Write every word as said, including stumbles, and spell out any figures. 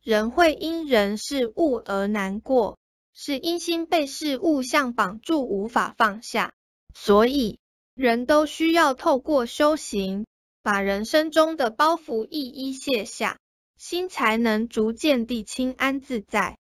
人会因人事物而难过，是因心被事物相绑住无法放下。所以，人都需要透过修行，把人生中的包袱一一卸下，心才能逐渐地轻安自在。